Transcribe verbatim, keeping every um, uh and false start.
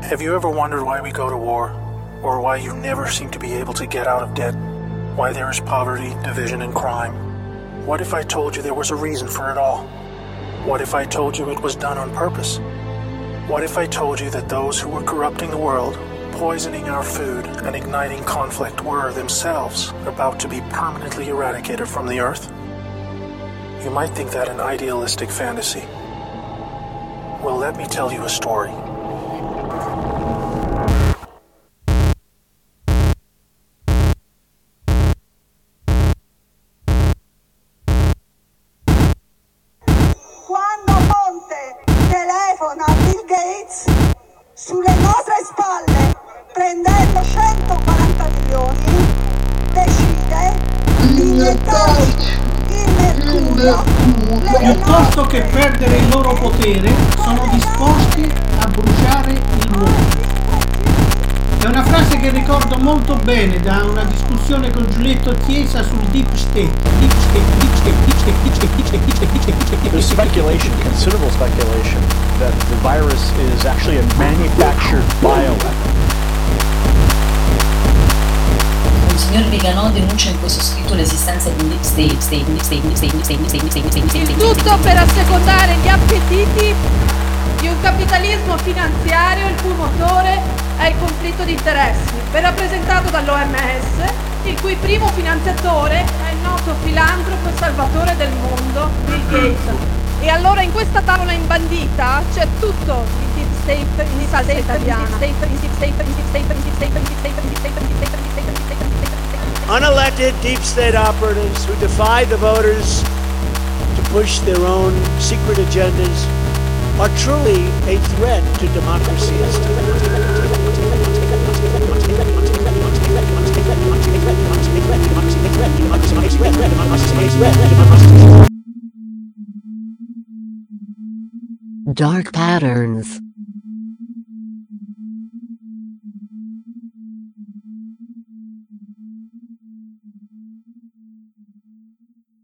Have you ever wondered why we go to war? Or why you never seem to be able to get out of debt? Why there is poverty, division, and crime? What if I told you there was a reason for it all? What if I told you it was done on purpose? What if I told you that those who were corrupting the world, poisoning our food, and igniting conflict were themselves about to be permanently eradicated from the earth? You might think that an idealistic fantasy. Well, let me tell you a story. A Bill Gates sulle nostre spalle, prendendo centoquaranta milioni, decide di iniettare il mercurio piuttosto che perdere il loro potere, sono disposti a bruciare il mondo. È una frase che ricordo molto bene da una discussione con Giulietto Chiesa sul deep state. Deep state, deep state, deep state, deep state, deep state, deep state, deep state, deep state. There's speculation, considerable speculation, that the virus is actually a manufactured bioweapon. Il signor Vigano denuncia in questo scritto l'esistenza di un deep state, state, deep state, deep state, deep state, deep state, deep state, deep state. Il tutto per assecondare gli appetiti di un capitalismo finanziario il cui motore è il conflitto di interessi, ben rappresentato dall'O M S, il cui primo finanziatore è il noto filantropo e salvatore del mondo, Bill Gates. E allora in questa tavola imbandita c'è tutto il deep state in salsa italiana. Unelected deep state operatives who defy the voters to push their own secret agendas are truly a threat to democracy. Dark patterns.